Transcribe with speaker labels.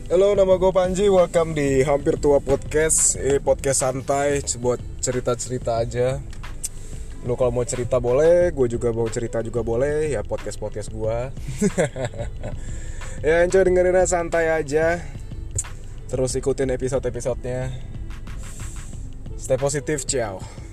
Speaker 1: Halo, nama gue Panji. Welcome di Hampir Tua Podcast. Podcast santai buat cerita-cerita aja. Lo kalau mau cerita boleh, gue juga mau cerita juga boleh. Ya podcast gue. Ya enjoy dengerin santai aja. Terus ikutin episode-episodenya. Stay positif, ciao.